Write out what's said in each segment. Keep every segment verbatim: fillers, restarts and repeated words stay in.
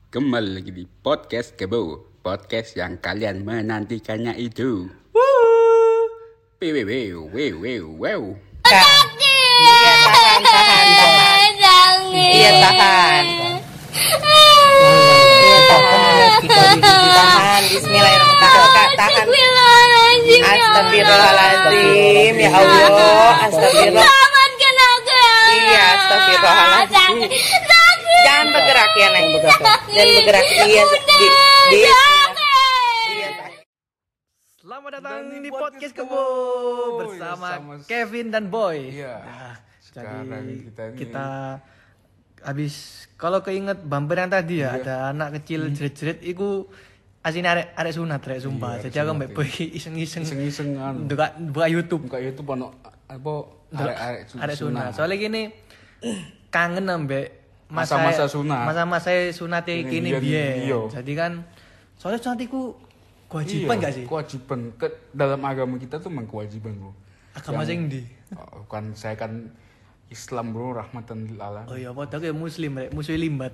Kembali lagi di Podcast Kebo, podcast yang kalian menantikannya itu. Wow, wow, wow, wow, wow. Iya tahan, tahan, tahan. Iya tahan. Iya tahan. Kita ditahan. Bismillahirrahmanirrahim. Tahan. Astagfirullahaladzim. Ya Allah. Astagfirullah. Iya, astagfirullahaladzim. Jangan bergerak ya, Neng. Jangan bergerak. Iya, di, di. Selamat datang di podcast Kebo bersama Kevin dan Boy. Iya. Nah, Sekarang jadi kita ini kita habis kalau keinget bumper yang tadi ya, Iya. ada anak kecil jerit-jerit iku asine arek arek sunat rek sumpah. Iya, Jadi arek aku sunat, mbek iya. Boy iseng-iseng iseng-iseng anu. buka buka YouTube Buka YouTube ono apa arek-arek su- arek sunat. sunat. Soalnya gini kangen ambek masa Masa-masa sunat. Masa-masa sunate Ini kini biyen, biyen. iya. Jadi kan soalnya sunat iku kewajiban Iya, gak sih? Kewajiban. Ke, dalam agama kita tuh memang kewajiban, Bro. Agama Yang- sing ndi? Oh, kan saya kan Islam, Bro, rahmatan lil alamin. Oh iya, padahal kayak muslim rek, musuh limbat.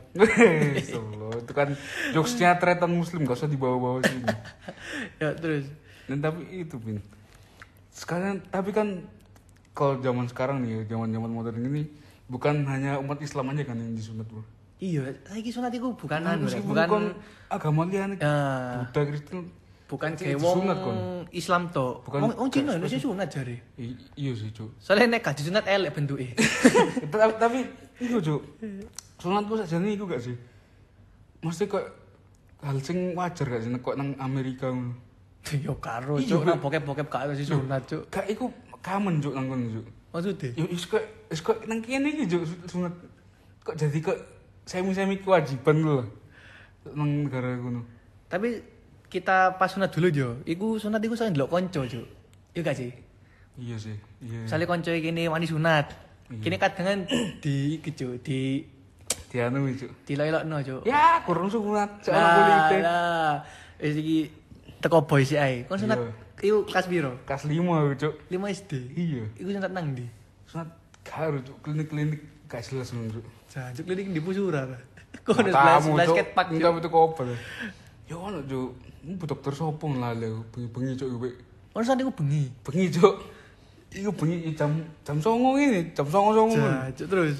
Solo itu kan jokesnya tretan muslim, gak usah dibawa-bawa sini. Ya terus. Dan tapi itu Bin. Sekarang tapi kan kalau zaman sekarang nih, zaman-zaman modern ini bukan hanya umat Islam aja kan yang disunat, Bro. Iya, saiki sunat iku bukan Nah, anu rek, meskipun bukan kon agama liane ya, Buddha Kristen bukan Cek kayak disunat, wong kon. Islam to. Bukan- Wong wong Cina gak- Indonesia sunat jare. I- iya sih cuk. Soalnya nek gak disunat elek bentuke. tapi, tapi itu cuk, sunatku sajane iku gak sih, mesti kok hal sing wajar gak sih nek kok nang Amerika ngono. Yo karo Iya, cuk, Bro. nang bokep-bokep gak harus sunat cuk. Gak iku kamen cuk nang kono cuk. Maksudnya? Yo is kok is kok nang kene iki cuk sunat kok jadi kok semi-semi kewajiban lho nang negara kono. Tapi kita pas sunat dulu jo, iku sunat iku soalnya ndelok konco cuk. Iya gak sih? Iya sih, iya. Soalnya konco kene wani sunat. Iya. Kene kadang kan di iki cuk, di Dianu cuk. dilelokno cuk. Ya, kurang sunat. Soalnya Lah, kulite. lah. Wis iki teko boy sih ae. Kon sunat Iya. iku kelas piro? Kelas lima cuk. lima S D. Iya. Iku sunat nang ndi? Sunat karo cuk, klinik-klinik gak jelas ngono cuk. Jancuk klinik di Pusura. Kok ada Tamu, sebelah Cuk. skate park. Enggak Cuk. betul kopel. Ya ono cuk. Bu dokter sopo lale bengi-bengi cuk iku. Kon sunat iku bengi. Bengi cuk. Iku bengi jam jam songo ini, jam songo songo. Jancuk terus.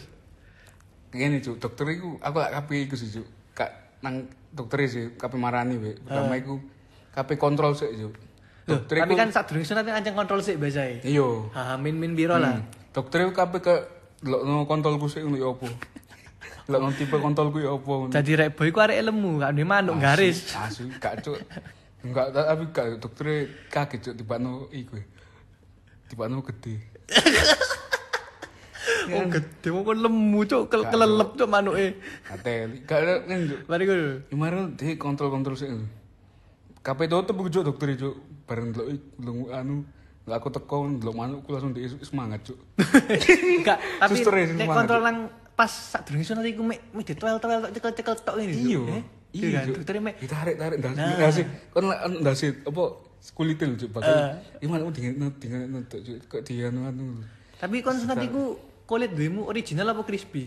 Ngene cuk, dokter iku aku lak kape iku sih cuk. Kak nang dokter sih kape marani we. Pertama iku kape kontrol sik cuk. Loh, Dokter tapi iku kan saat durung sunat kan ancang kontrol sik biasae. iya. Ha min min piro lah. Hmm. Dokter iku kape ke delokno kontolku sik ngono ya opo. Delokno tipe kontolku ya opo. ngono. Jadi rek boy ku arek lemu, gak duwe manuk garis. Asu gak cuk. Enggak tapi gak dokter kaget cuk tibano iku. Tibano gede. Oh gede mau kon lemu cuk, kel- kelelep cuk manuke. Atel. Gak ada kan cuk. Mari ku. Kemarin dia kontrol-kontrol sik. Kape tutup iku cuk dokter cuk. Bareng delok iku anu lah aku teko delok manukku langsung dia semangat cuk. Enggak, tapi Suster ya, sing nek semangat, kontrol Cuk. nang pas sak durung sunat iku mek mek ditoel-toel tok cekel-cekel tok ngene. Cuk. Iya. Eh? Iya kan, cuk. dokter mek ditarik-tarik ndas. Nah. Ndasi. Kon lek ndasi apa kulite lho cuk. Eh. Bakal gimana dengan dengan tok cuk. Kok dia anu anu. tapi kon sunat iku kulit duwemu original apa crispy?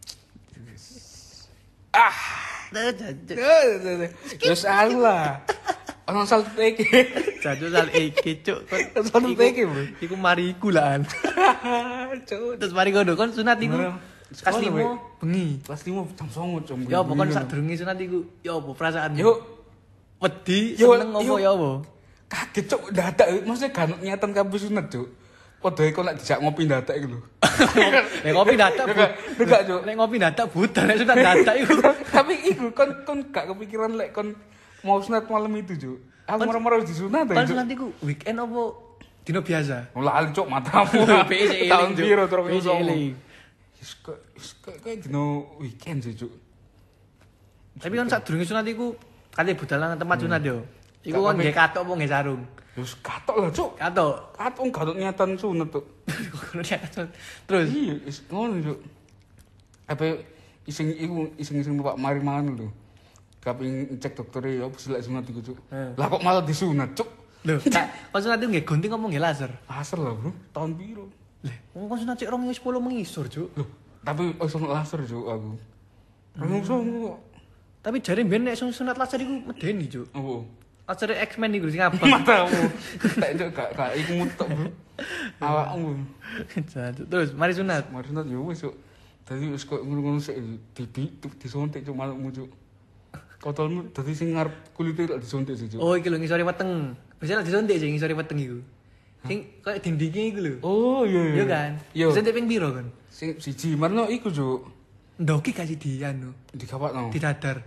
Ah. Dah jancuk. Terus lah. Ono salto iki. Jancuk sal iki cuk. Kon Salto iku- iki, Bro. Iku mariku lah. Cuk. Terus mari kono kon sunat iku Bener. kelas Sekolah, lima Wek. bengi. Kelas lima jam songo jam. Ya apa kon sak durunge sunat iku ya apa perasaan? Yuk. Wedi, Yo, seneng apa yo. ya apa? Kaget cuk dadak maksudnya kan niatan kabeh sunat cuk. Padha kok lek dijak ngopi dadak iku lho. Nek ngopi dadak bu. Enggak, Cuk. Nek ngopi dadak buta nek sunat dadak iku. Tapi iku kon kon gak kepikiran lek kon mau sunat malam itu cuk. Aku marah-marah harus disunat Kon cuk. sunat iku weekend apa dino biasa? Mulai cuk matamu. P S eling, Tahun Cuk. piro terus P S eling. Wis kok wis kok kayak dino weekend sih cuk. Tapi kon sak durunge sunat iku kali budalan tempat sunat yo. Iku Gak kon apa- nggih katok apa nggih sarung? Wis katok lah cuk. Katok. Katok gak niatan sunat tuh. Terus Iya, is ngono cuk. Apa iseng iku iseng-iseng bapak mari mangan lho. Kaping cek dokter ya opo sih lek sunat iku cuk. Eh. Lah kok malah disunat cuk. lho, kak kon sunat iku nggih gunting apa nggih laser? Laser lah, Bro. Tahun piro? Lah, wong kon sunat cek rong sepuluh mengisor, Cuk. Loh, tapi iso laser cuk aku. Rong songo kok. Tapi jare mbiyen nek sunat laser iku medeni, Cuk. Apa? Laser X-Men iku sing abang. Matamu. Tak cuk gak gak iku mutok, Bro. Awakmu. Terus mari sunat. Mari sunat yo wis, Cuk. Dadi wis kok ngono-ngono sik dibi disuntik cuk malukmu, Cuk. Kotolmu dadi sing ngarep kulite lak disuntik sih, Cuk. Oh, iki lho ngisore weteng. Biasanya disuntik sing ngisore weteng iku. Sing koyo dindinge iku lho. Oh, iya iya. Iya kan? Iya. Disuntik ping piro kan? Sing siji marno iku, Cuk. Ndoki kasih di anu, Digawakno. didadar.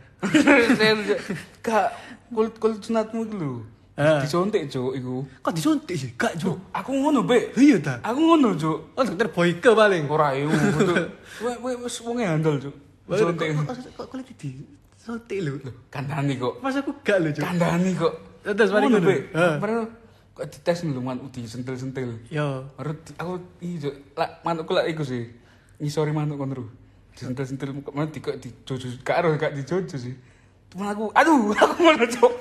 Kak, kulit kulit sunatmu iku lho. Ah. Disuntik, Cuk, iku. Kok disuntik sih? Gak, Cuk. Aku ngono, Bek. Iya ta? Aku ngono, Cuk. Oh, dokter Boyke paling. Ora yo, Cuk. Wes wes wong handal, Cuk. Disuntik. Kok kulit di suntik lho. Kandhani kok. Mas aku gak lho, Cuk. Kandhani kok. Terus mari ngono. Bek. Baru kok dites lho man disentil-sentil. Yo. Baru di- aku iki, Cuk. Lah manukku lak iku sih. Ngisori manuk kono lho. Disentil-sentil mana di kok dijojo gak ero gak dijojo sih. Temen aku, aduh, aku ngono, Cuk.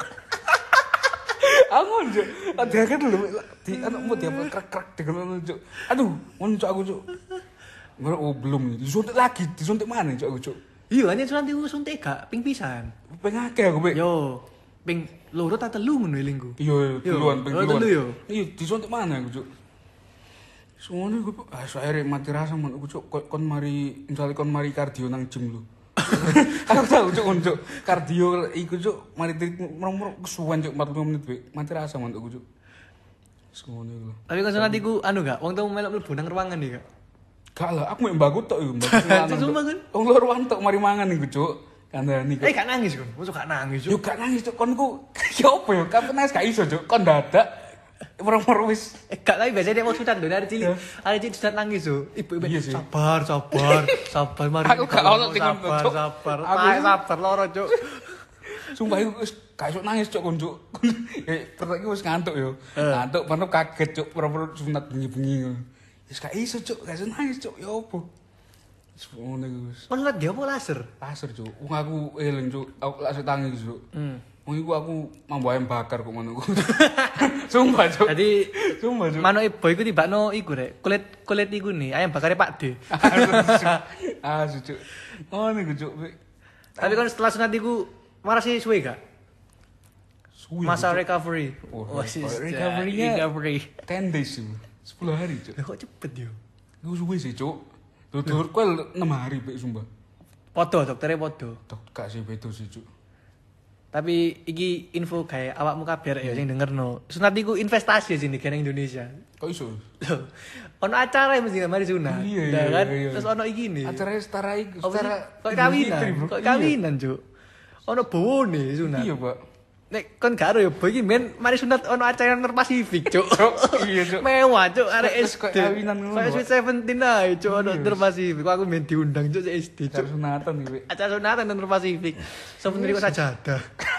Aku ngono, Cuk. Ada kan lho di anu mau dia krek-krek dengan Cuk. Aduh, ngono Cuk aku, Cuk. Baru oh belum disuntik lagi, disuntik mana Cuk aku, Cuk. Iya, hanya sunat iku suntik gak ping pisan. Pengen akeh aku, Bek. Yo, ping loro ta telu ngono elingku. Iya, Yo, duluan, ping oh, duluan. telu yo. Iya, disuntik mana aku, Cuk. Semuanya gue, ah, akhirnya mati rasa man, aku Cuk, kon, kon mari, misalnya kon mari kardio nang gym lu. Aku tahu Cuk, kon Cuk, kardio iku Cuk, mari trik merong-merong kesuwen Cuk, empat puluh menit Bek, mati rasa man aku Cuk. Semuanya gue. Tapi kan sunat iku anu gak, wong tau melok mlebu nang ruangan iki gak. Gak lah, aku mau mbaku tok iku, mbaku lanang. Sumpah, kan? Wong luar ruang tok mari mangan iku Cuk. Kandhani kok. Eh gak nangis kon, mosok gak nangis Yo Cuk. gak nangis Cuk, kon ku ya opo yo, kapan nangis gak iso Cuk, kon dadak. Merong-merong wis Eh gak tapi biasanya dia mau sunat lho, dari cilik. Ada cilik sunat nangis Cuk. Ibu-ibu Iya sih. sabar, sabar, sabar mari. Aku gak ono sing ngono, sabar, Cuk. sabar. Aku- Aku sabar loro Cuk. Sumpah iku wis gak iso nangis Cuk kon Cuk. Eh pertama iki wis ngantuk yo. Ngantuk baru kaget Cuk, pura-pura sunat bengi-bengi ngono. Wis gak iso Cuk, gak iso nangis Cuk, ya opo. Wis ngono iku wis. Kon sunat dia apa laser? Laser Cuk, wong aku eling Cuk, aku langsung tangi Cuk. Hmm. Wong iku aku mambu ayam bakar kok ngono ku. Sumpah Cuk. Jadi Sumpah Cuk. manuk ibu iku tibakno iku rek, kulit kulit iku nih, ayam bakare Pak D. Ah, Cuk. Oh, niku Cuk. Tapi kan setelah sunat iku marasi suwe gak? Suwi, Masa Cuk. recovery. Oh, sis, recovery-nya- recovery. ten days Cuk. sepuluh hari Cuk. Lah kok cepet yo. Gue suwe sih Cuk. Tutur kuel enam hari Bek sumpah. Podo dokternya podo. Tok gak sih beda sih Cuk. Tapi iki info kayak awakmu kabeh rek ya sing dengerno. Sunat iku investasi sini kene Indonesia. Kok iso? Loh, ono acara mesti mari sunat. Iya, Nah, iya, kan? iya. Terus ono iki nih. Acaranya setara iku, Apa sih? setara Kok Idul kawinan, Fitri, Bro. kok Iya. kawinan, Cuk. Ono bone sunat. Iya, Pak. Nek kon gak ero ya boy iki men mari sunat ono acara nang Pasifik, Cuk. Iya, Cuk. Mewah, Cuk, arek Terus S kok D. kawinan ngono, Kayak Pak. Sweet Seventeen ae, Cuk, ono Iya. nang Pasifik. Kok aku men diundang Cuk S D, Acara Cuk. sunatan nih, Bek. Acara sunatan nang Pasifik. Souvenir kok sajadah.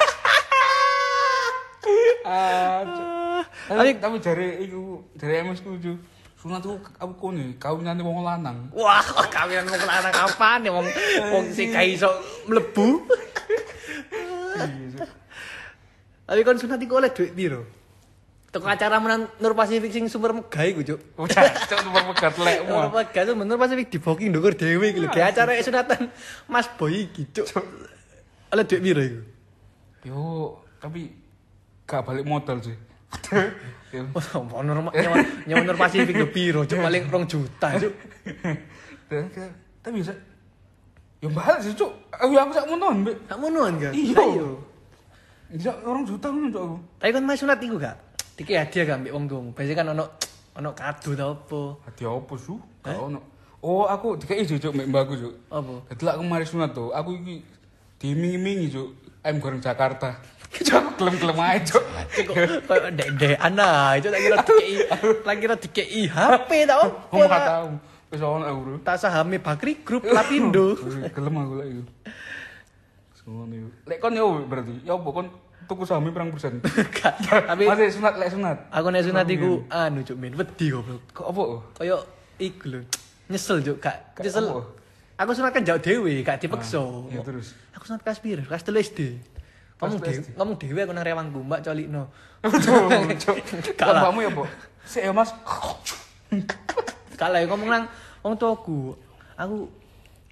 Ah, Cuk. Tapi Tapi tapi jare iku, jare M S ku Cuk. Sunat ku aku kone, kawinane wong lanang. wah, kok kawinan mau kelana kapan ya wong wong sing gak iso mlebu. Iya, Cuk. Tapi kon sunat iku oleh duit piro? Teko acara menang Nur Pasifik sing super megah iku, Cuk. Udah, Cuk nomor pegat lek Nur mu. megah tuh Nur Pasifik di booking ndukur dhewe iki lho. Kayak acara sunatan Mas Boy iki, Cuk. Oleh duit piro iku? Yo, tapi gak balik modal sih. Yo. Oh, Nur nyawa nyawa Nur Pasifik lho piro, Cuk? Paling rong juta, Cuk. Dan ke- tapi bisa yo balik sih Cuk. Aku aku sak monon, Bek. Gak monoan kan? Iya. Ayo. Bisa orang juta ngono Cuk aku. Tapi kan mas sunat iku gak? Diki hadiah gak mbek wong tuamu. Biasanya kan ono ono kado ta apa? Hati apa su? Gak ono. Oh, aku dikai Cuk mbek mbakku Cuk. Apa? Dadi lak aku mari sunat to, aku iki dimingi-mingi Cuk. Ayam goreng Jakarta. Cuk aku kelem-kelem ae Cuk. Kok koyo ndek-ndek ana, itu tak kira dikei, tak kira dikei H P ta opo? Ngomong gak tau. Wis ono aku, Bro. Tak sahame Bakri Group Lapindo. Gelem aku lek iku. Ngono iku. Lek kon yo berarti, ya opo kon tuku saham pirang persen? Gak, Tapi Masih sunat lek sunat. aku nek sunat iku anu Cuk men, wedi goblok. Kok opo? Koyo iku lho. Nyesel Cuk, gak Gak nyesel. apa? Aku sunat kan jauh dhewe, gak dipeksa. Ya terus. Aku sunat kelas piro? Kelas telu S D. Ngomong Kelas telu dhewe, S D. ngomong dhewe aku nang rewangku, Mbak colikno. Cuk. Kalah. Kamu ya, Po? Sik ya, Mas. Kalah ngomong nang wong tuaku. Aku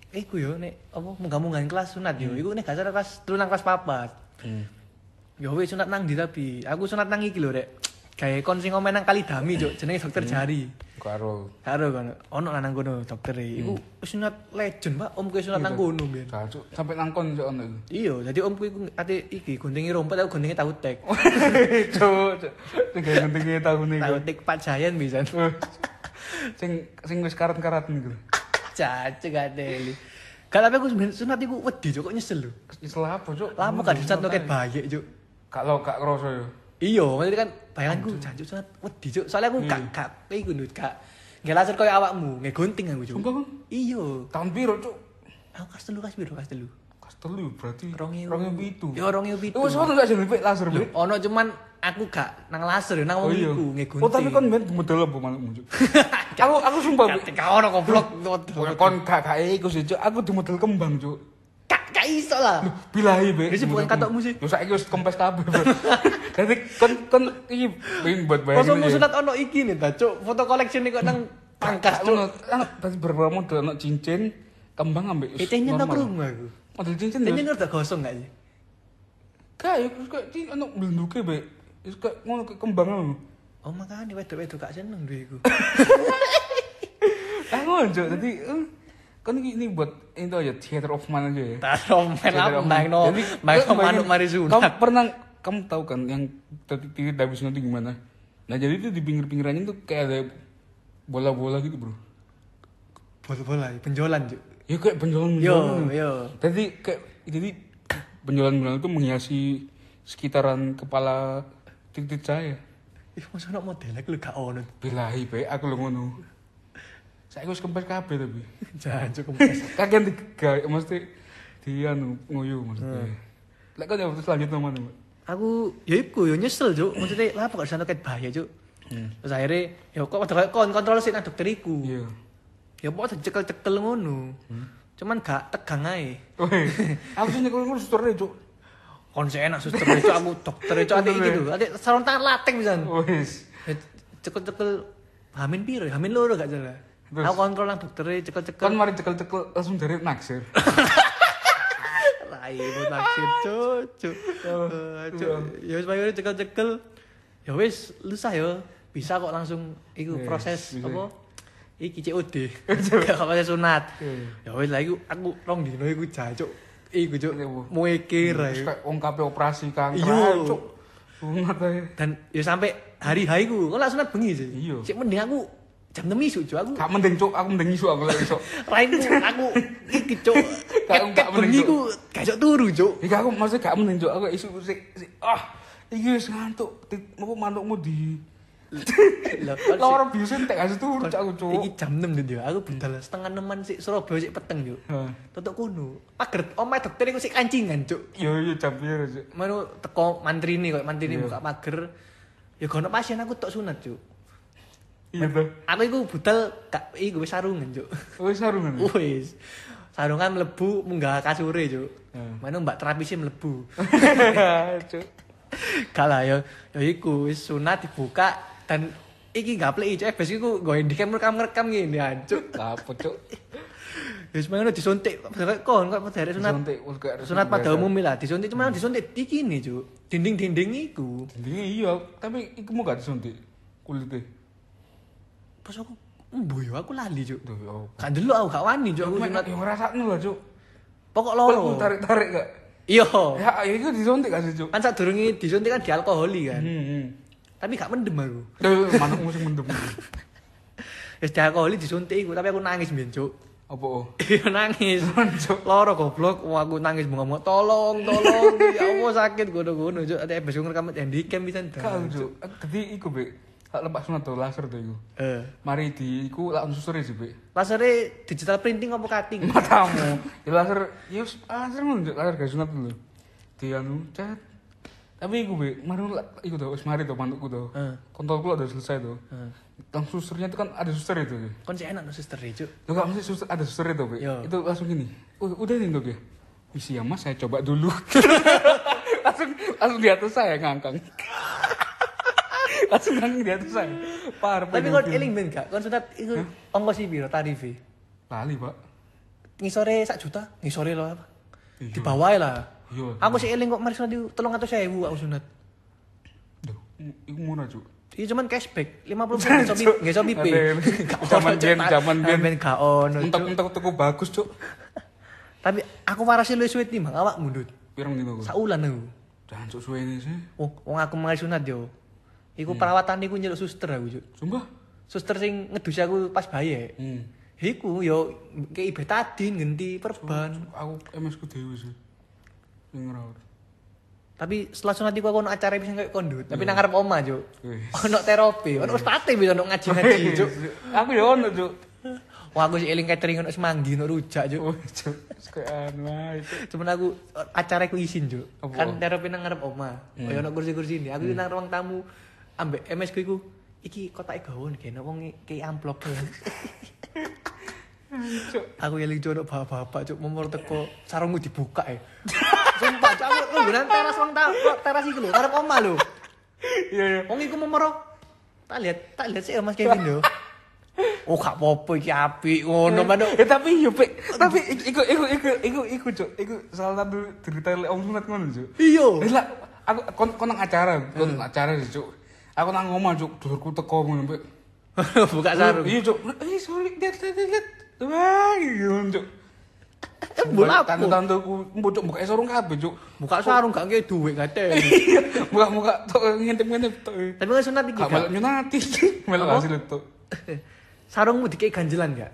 iku yo nek apa munggah-munggahan kelas sunat yo iku nek gak salah kelas telu nang kelas papat. Hmm. Yo wis sunat nang ndi tapi aku sunat nang iki lho rek. Gawe kon sing omen nang Kalidami juk jenenge dokter Jari. Karo. Karo kan ono nang kono dokter e. Iku sunat legend, Pak. Omku sunat nang kono mbiyen. Cacuk sampe nang kon juk ono iku. Iya, dadi omku iku ate iki guntingi rompet aku guntingi tahu tek. Cuk, cuk. Guntingi tahu niku. Tahu tek Pak Jayan pisan. Sing sing wis karat-karat niku. Cacuk gak deli. Gak tapi aku sunat iku wedi juk kok nyesel lho. Nyesel apa, Cuk? Lama kan sunat ket bayek juk. Kalau gak kroso yo. Iya, maksudnya kan bayanganku jancuk sangat wedi cuk. Soalnya aku gak gak iku ndut gak nggak laser koyo awakmu, nggak gunting aku cuk. Sumpah. Iya. Tahun piro, Cuk? Aku kas telu kas piro kas telu. Kas telu berarti dua ribu itu. Ya dua ribu itu. Wes ono gak jenenge pik laser, Pik? Ono cuman aku gak nang laser ya nang wong iku nggak gunting. Oh, tapi kon ben model apa manukmu, Cuk? Aku aku sumpah Kate ka ono goblok. kon gak gak iku sih, Cuk. Aku di model kembang, Cuk. Gak gak iso lah. Bilahi, Pik. Wis bukan katokmu sih. Yo saiki wis kempes kabeh, Bro. Dadi kon kon iki pengen buat bayar. Fotomu sunat ono iki nih ta, Cuk. Foto koleksi nih kok nang pangkas, Cuk. Ono tadi beberapa model ono cincin, kembang ambek Itu nyentok rumah aku. Model cincin Ini lho. udah gosong gak sih? Kayak kok iki ono blenduke, Pik. Wis kok ngono ke kembang ngono. Oh makanya wedok-wedok gak seneng duwe iku. Ah ngono, Cuk. Dadi kan ini, ini buat itu aja theater of mind aja ya. Taruh main apa main no main no manuk mari sunat. Kamu pernah kamu tahu kan yang titik Dabi sunat itu gimana? Nah jadi itu di pinggir-pinggirannya tuh kayak ada bola-bola gitu bro. Bola-bola penjualan juga. Ya kayak penjualan Yo penjualan. yo. Jadi kayak jadi penjualan-penjualan itu menghiasi sekitaran kepala titik saya. Ih masa nak model aku gak ono. Bilahi pe aku lo ngono. Saya harus kempes kabeh tapi. Jangan cukup kempes. Kagian digawe mesti di anu nguyu maksudnya. Lek kok jawab selanjutnya mana, Mbak? Aku ya iku yo nyesel, Cuk. Maksudnya lah kok sana ket bahaya, Cuk. Terus akhirnya ya kok padha kon kontrol sik nang dokter iku. Iya. Ya pokok cekel-cekel ngono. Cuman gak tegang ae. Weh, aku sih nyekel ngono susternya, Cuk. Kon sik enak suster Cuk, aku dokter Cuk ate iki lho. Ate sarung tangan lateng pisan. Wes. Cekel-cekel hamin piro? Hamin loro gak salah. Terus? Aku kontrol nang dokter cekel-cekel. Kan mari cekel-cekel langsung dari naksir. Rai bu naksir cucu. Ya wis bayar cekel-cekel. Ya wis lusah ya. Bisa kok langsung iku Yes, proses bisa. apa? Iki C O D. Gak proses sunat. Iya. Ya wis lah iku aku rong dino iku jancuk. Iku cuk Iya, Bu. muekir Terus ae. kayak wong kabeh operasi kanker. Iya. Cuk. Sunat ae. Dan ya sampai hari hari ku, kok lak sunat bengi sih. Iya. Sik mending aku jam enam isu cuk aku. Gak mending, Cuk. Aku mending isu aku lek iso. Rainku aku iki cuk. Gak- Ket gak mending, bengi Cuk. ku gak iso turu cuk. Iki aku maksudnya gak mending, Cuk. Aku isu sik sik ah iki wis ngantuk. Apa manukmu di Lah, Loro biasa entek kasih turu Cuk aku, Cuk. iki jam enam gitu ya. Aku budal setengah eneman sik Surabaya sik peteng yo. Heeh. Tutuk kuno. Pager omahe dokter iku sik kancingan cuk. Yo yo jam piro, Cuk? Manu teko mantrine koyo mantrine Iya. buka pager. Ya gono pasien aku tok sunat cuk. Iya tuh. Aku iku budal gak iku wis sarungan cuk. Wis sarungan. Wis. Sarungan mlebu munggah kasure cuk. Hmm. Manu mbak terapisi mlebu. Cuk. Gak lah ya, ya iku wis sunat dibuka dan iki gak plek cuk, bes iku go handicam rekam-rekam ngene ancuk. Apa, Cuk? Wis mangane disuntik kon kok dari sunat. Disuntik, wis kayak Sunat pada biasa. umumnya lah, disuntik cuma disuntik iki nih cuk. Dinding-dinding iku. Ini iya, tapi iku mau gak disuntik kulitnya. Pas aku embo yo aku lali cuk. Duh, ya. Gak ndelok aku gak wani cuk aku Aku sunat. yang ngerasakno lah, Cuk. Pokok Kalau loro. tarik-tarik gak? Iya. Ya, ya itu disuntik gak sih, Cuk? Kan sadurunge disuntik kan dialkoholi kan. Hmm, hmm. Tapi gak mendem aku. Duh, manukmu sing mendem. Wis dialkoholi disuntik iku, tapi aku nangis mbiyen cuk. Apa? Oh? Iya nangis. Cuk. Loro goblok, wah aku nangis ngomong tolong, tolong. Ya Allah sakit gono-gono cuk. Ada ebes ngerekam handicam pisan. Kau, Cuk. Dadi iku, Bek. Hak lepas sunat tuh laser tuh iku. Eh, Mari di iku langsung susuri sih, Bek. lasere digital printing apa cutting? Matamu. Ya laser, ya wis, laser ngono, Cuk. Laser gak sunat dulu. Di anu, cet. Tapi iku, Bek, mari iku tuh, wis mari tuh mantukku tuh. Heeh. Kontolku udah selesai tuh. Heeh. Langsung susternya itu kan ada suster itu. Kon sih enak no suster cuk. Lo gak mesti suster, ada suster itu, Bek. Yo. Itu langsung gini. Oh, udah nih, Dok ya. Isi ya, Mas, saya coba dulu. langsung langsung di atas saya ngangkang. langsung ngangkang di atas saya. Parah. Tapi kon eling ben gak? Kon sunat iku ongkos piro tarife? Lali, Pak. ngisore sak juta, ngisore lho apa? Di bawah lah. Iya. Aku sih eling kok mari sunat itu tiga ratus ribu aku sunat. Duh, iku murah, Cuk. Iya cuman cashback lima puluh persen nggak sobi nggak sobi pay. Zaman biyen zaman biyen ben gak ono. entek-entek tuku bagus, Cuk. Tapi aku warasi luwih suwe timbang awak mundut. Pirang dino? Saulan aku. Dan Cuk suwe ini sih. Oh, wong aku mari sunat yo. Iku perawatan iku njaluk suster aku, Cuk. Sumpah. Suster sing ngedusi aku pas bayi. Hmm. Iku yo kei betadin ganti perban. Aku M S ku dhewe sih. Sing ngerawat. Tapi setelah sunat iku aku ono acara bisa kayak kondut, tapi nang ngarep omah, Cuk. Wis. Ono terapi, ono ustate bisa ono ngaji-ngaji, Cuk. Aku yo ono, Cuk. Wah, aku sih eling catering ono semanggi, ono rujak, Cuk. Oh, Cuk. Kayak anu ae, Cuk. Cuman aku acara aku izin, Cuk. Apa? Kan terapi nang ngarep omah. Kayak ono kursi-kursi ini. Aku nang ruang tamu ambek M S ku iku iki kotake gawon kene wong kei amplop. Cuk. Aku eling jono bapak-bapak, Cuk, momor teko sarungku dibuka e. Sumpah, Cuk, aku nunggunan teras wong ta, teras iki lho, ngarep omah lho. Iya, iya. Wong iku momor tak lihat, tak lihat sih Mas Kevin lho. Oh, gak apa-apa iki apik ngono, Manuk. Eh tapi yo, Pik. Tapi iku iku iku iku iku, Cuk. Iku salah satu cerita lek om sunat ngono, Cuk. Iya. Lah, aku kon kon nang acara, kon nang acara sih, Cuk. Aku nang omah, Cuk, dulurku teko ngono, Pik. Buka sarung. Iya, Cuk. Eh, sorry, lihat lihat lihat. Wah, gitu, Cuk. Bola apa? Tante-tanteku mbocok buka sarung kabeh, Cuk. Buka sarung gak nge duit gak Buka-buka tok ngintip-ngintip tok. Tapi kan sunat iki Gak gak. melok nyunati. Melok Apa? hasil tok. Sarungmu dikei ganjelan gak?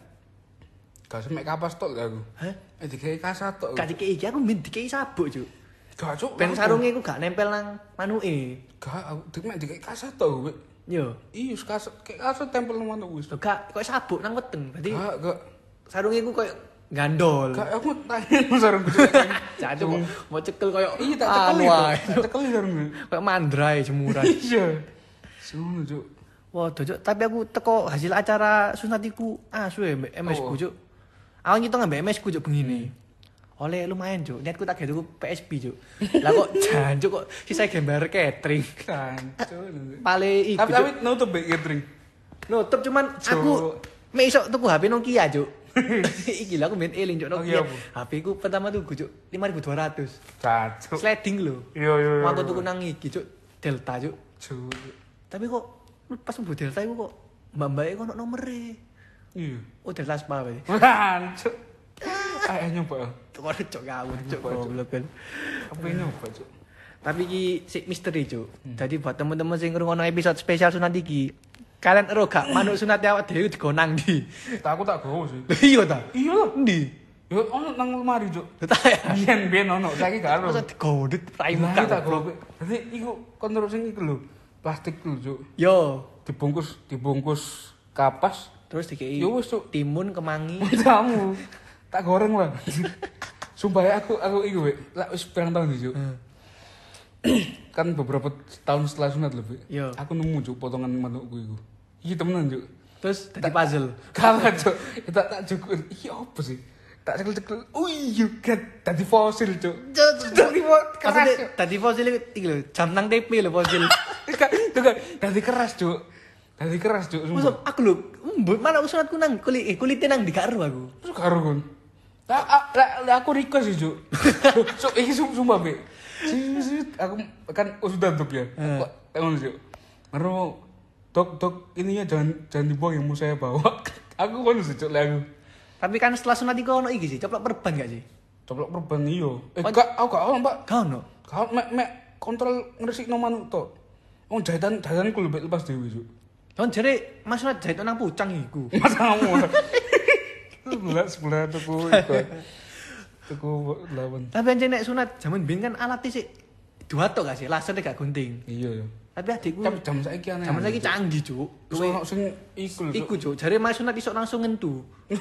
Gak semek kapas tok aku. Hah? Eh dikei kasat tok. Gak dikei iki aku min dikei sabuk, Cuk. Gak, Cuk. Ben sarunge iku gak nempel nang manuke. Gak, aku dikmek dikei kasat tok, Wik. Yo. Iya, kasat kayak kasat tempel nang manuk wis. Lho gak kok sabuk nang weteng. Berarti Gak, gak. sarunge iku koyo gandol. Gak, aku tanya sarung Cuk. Jancuk kok mau cekel koyo Iya, tak cekeli. anu ae. Tak cekeli sarung. Kayak mandrai jemuran. Iya. Sono, Cuk. Wah, Cuk, tapi aku teko hasil acara sunat iku asu ya mbek M S ku, Oh. Cuk. Aku ngitung mbek M S ku, Cuk, begini. Oleh lumayan, Cuk. Niatku tak gawe tuku P S P, Cuk. Lah kok jancuk kok sisa gambar catering. Kancuk. Pale iku, Tapi Cuk. tapi nutup Bek catering. Nutup cuman Cuk. aku mek iso tuku H P Nokia, Cuk. Iki lah aku main eling, Cuk, Oh, iya, Nokia. Bu. H P ku pertama tuku, Cuk, lima ribu dua ratus. Cancuk. Sliding lho. Iya, iya, iya. Mau aku tuku nang iki, Cuk. Delta, Cuk. Cuk. Tapi kok pas mlebu Delta iku kok mbak-mbake kok ono nomere. Iya. Oh, Delta Spa wae. Cancuk. Ayo nyoba. Cuk, ora cuk ngawur, Cuk. Coba, Cuk. Goblok kan. Apa yang nyoba, Cuk? Tapi iki sik misteri, Cuk. Jadi buat teman-teman sing ngrungokno episode spesial sunat iki, kalian ero gak manuk sunat awak dhewe digonang ndi? Tak aku tak gowo sih. Iya ta? Iya lah. Ndi? Yo ono nang lemari, Cuk. Tak ya. Biyen biyen ono, saiki gak ono. Masa digodhet rai Lah muka tak goblok. gowo. Dadi iku kon terus sing iku lho. Plastik lho, Cuk. Yo, Dibungkus dibungkus kapas. terus dikei Yo wis, Cuk. timun kemangi. Kamu tak goreng lah. Sumpah ya aku aku iku, Wek. Lah wis pirang tahun iki, Cuk. Kan beberapa tahun setelah sunat lho, Wek. Yo. Aku nemu, Cuk, potongan manukku iku. Iki temenan, Cuk. Terus dadi puzzle. Kalah, Cuk. Tak tak cukur. Iki apa sih? Tak cekel-cekel. Oh iya, kan tadi fosil, Cuk. Tadi fosil keras. Maksudnya Cuk. tadi fosil iki lho, jam nang T V lho fosil. Kan, itu kan tadi keras, Cuk. Tadi keras, Cuk. Maksud Sumpah. aku lho, mbut mana aku sunatku nang kulit eh kulite nang di karo aku. Terus karo kon. Tak a- lah lah, aku request sih, Cuk. Cuk, iki sum- sumpah, Be. Sih, sih, aku kan sudah tutup ya. Kok ngono, Cuk. Baru dok dok ininya jangan jangan dibuang yang mau saya bawa. Aku kan sih, Cuk, lah aku. Tapi kan setelah sunat iku ono iki sih, coplok perban gak sih? Coplok perban iyo. Eh, Oh. gak, aku gak ono, Pak. Gak ono. Kau mek mek kontrol ngresikno manuk tok. Wong jahitan jahitanku lho lepas dhewe, Cuk. Kan jare Mas sunat jahit nang pucang iku. Masamu. Sebelah sebelah tuku iku. Tuku lawan. Tapi anjing nek sunat zaman biyen kan alatnya sih dua tok gak sih, lasernya gak gunting. Iya ya. Tapi adikku Tapi jam saiki aneh. zaman saiki canggih, Cuk. Terus ono sing iku lho. Iku, Cuk, jare Mas sunat iso langsung ngentu.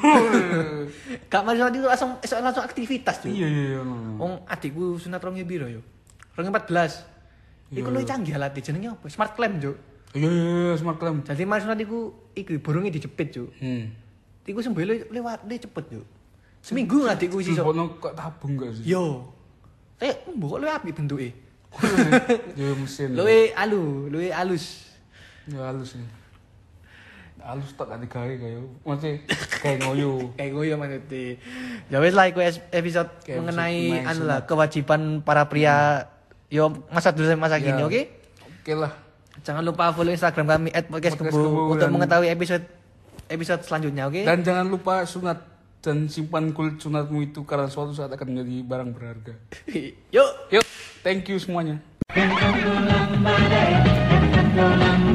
Gak Mas sunat itu langsung iso langsung aktivitas, Cuk. Iya iya iya. ono. Wong adikku sunat rong piro yo? rong empat belas. Iku luwih canggih alatnya jenenge apa? Smart clamp, Cuk. Iya iya iya smart clamp. Jadi Mas sunat iku iku burungnya dijepit, Cuk. Hmm. Iku sembele lewat dia cepet, Cuk. Seminggu adikku iso. Ono kok tabung gak sih? Yo. Eh, mbok kok luwih apik bentuke. Yo mesin. Luwih alu, luwih alus. Ya halus nih. halus tak ganti gawe kayak masih kayak ngoyo. Kayak gue ya maksudnya. Ya wes lah, iku es- episode Kayak mengenai episode anu mengenai lah kewajiban para pria yo masa dulu sampai masa kini, Ya. oke? Oke lah. Jangan lupa follow Instagram kami at podcast Podcast Kebo Kebo untuk dan- mengetahui episode episode selanjutnya, oke? Dan jangan lupa sunat dan simpan kulit sunatmu itu karena suatu saat akan menjadi barang berharga. Yuk. Yuk, thank you semuanya.